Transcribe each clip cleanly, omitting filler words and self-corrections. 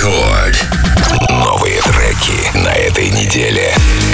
Рекорд. Новые треки на этой неделе.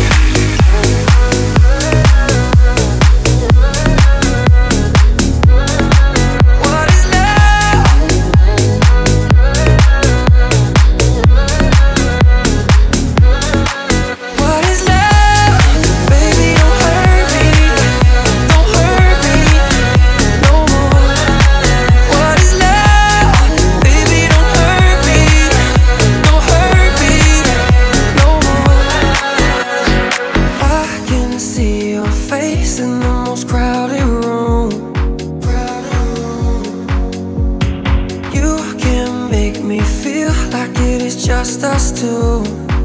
Just us two.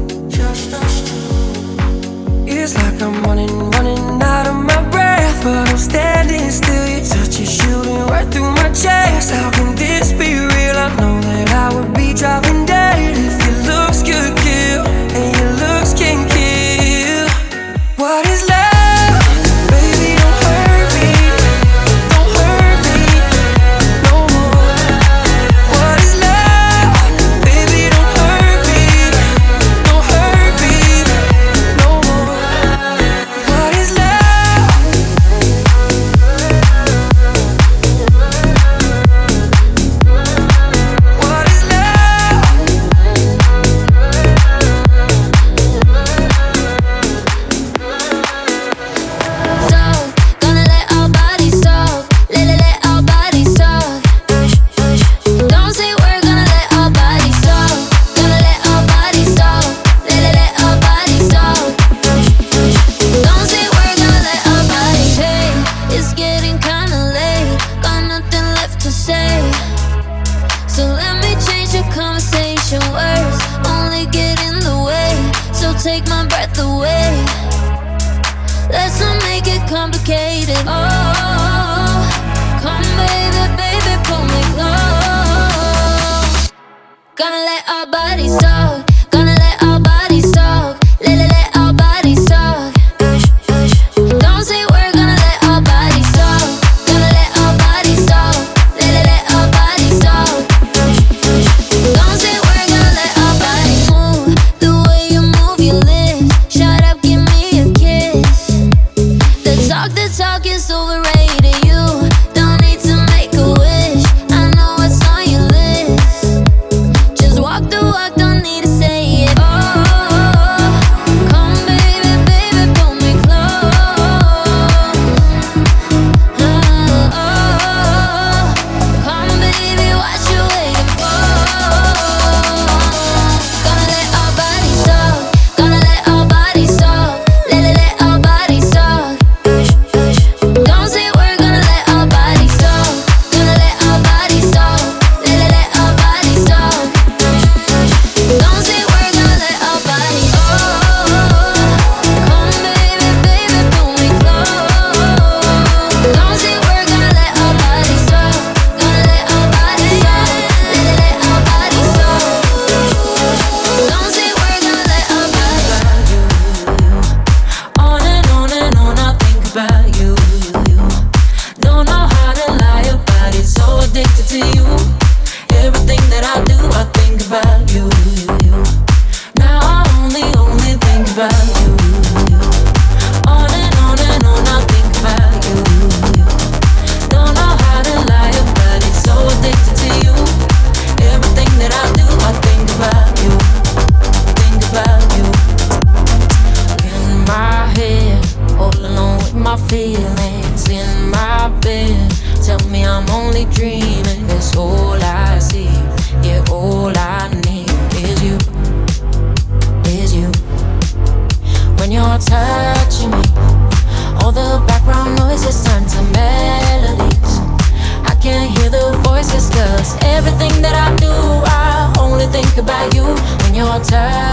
It's like I'm running out of my breath, but I'm standing still. Your touch is shooting right through my chest. How can this be real? I know that I would be dropping dead if your looks could kill, and your looks can kill. What is love? Take my breath away. Let's not make it complicated. Oh, come baby, baby, pull me close. Gonna let our bodies talk. Gonna let our bodies talk. Let our bodies talk. Don't say we're gonna let our bodies talk. Gonna let our bodies talk. Let our bodies talk. Don't say we're gonna let our bodies move. The way you move your lips. Shut up, give me a kiss. The talk is overrated. You don't need to make a wish. I know what's on your list. Just walk the walk, don't need to say it. Oh, come baby, baby, pull me close. Oh, come baby, what you waiting for? Gonna let our bodies talk. Gonna let our bodies talk. Let our bodies talk. Don't say we're gonna let our bodies talk. Gonna let our bodies talk. Let our bodies talk. Don't say we're gonna let our bodies. Oh, come baby, baby, pull me close. Don't say we're gonna let our bodies talk. Gonna let our bodies talk. Let our bodies talk. Don't say we're gonna let our bodies. On and on and on, I think about you. Don't know how to lie about it, so addicted to you. Everything that I do, I think about you. Now I only think about you. On and on, I think about you. Don't know how to lie about it, so addicted to you. Everything that I do, I think about you. Think about you. In my head, all alone with my feelings. In my bed, tell me I'm only dreaming. That's all I see, yeah, all I need is you, is you. When you're touching me, all the background noises turn to melodies. I can't hear the voices, 'cause everything that I do, I only think about you. When you're touching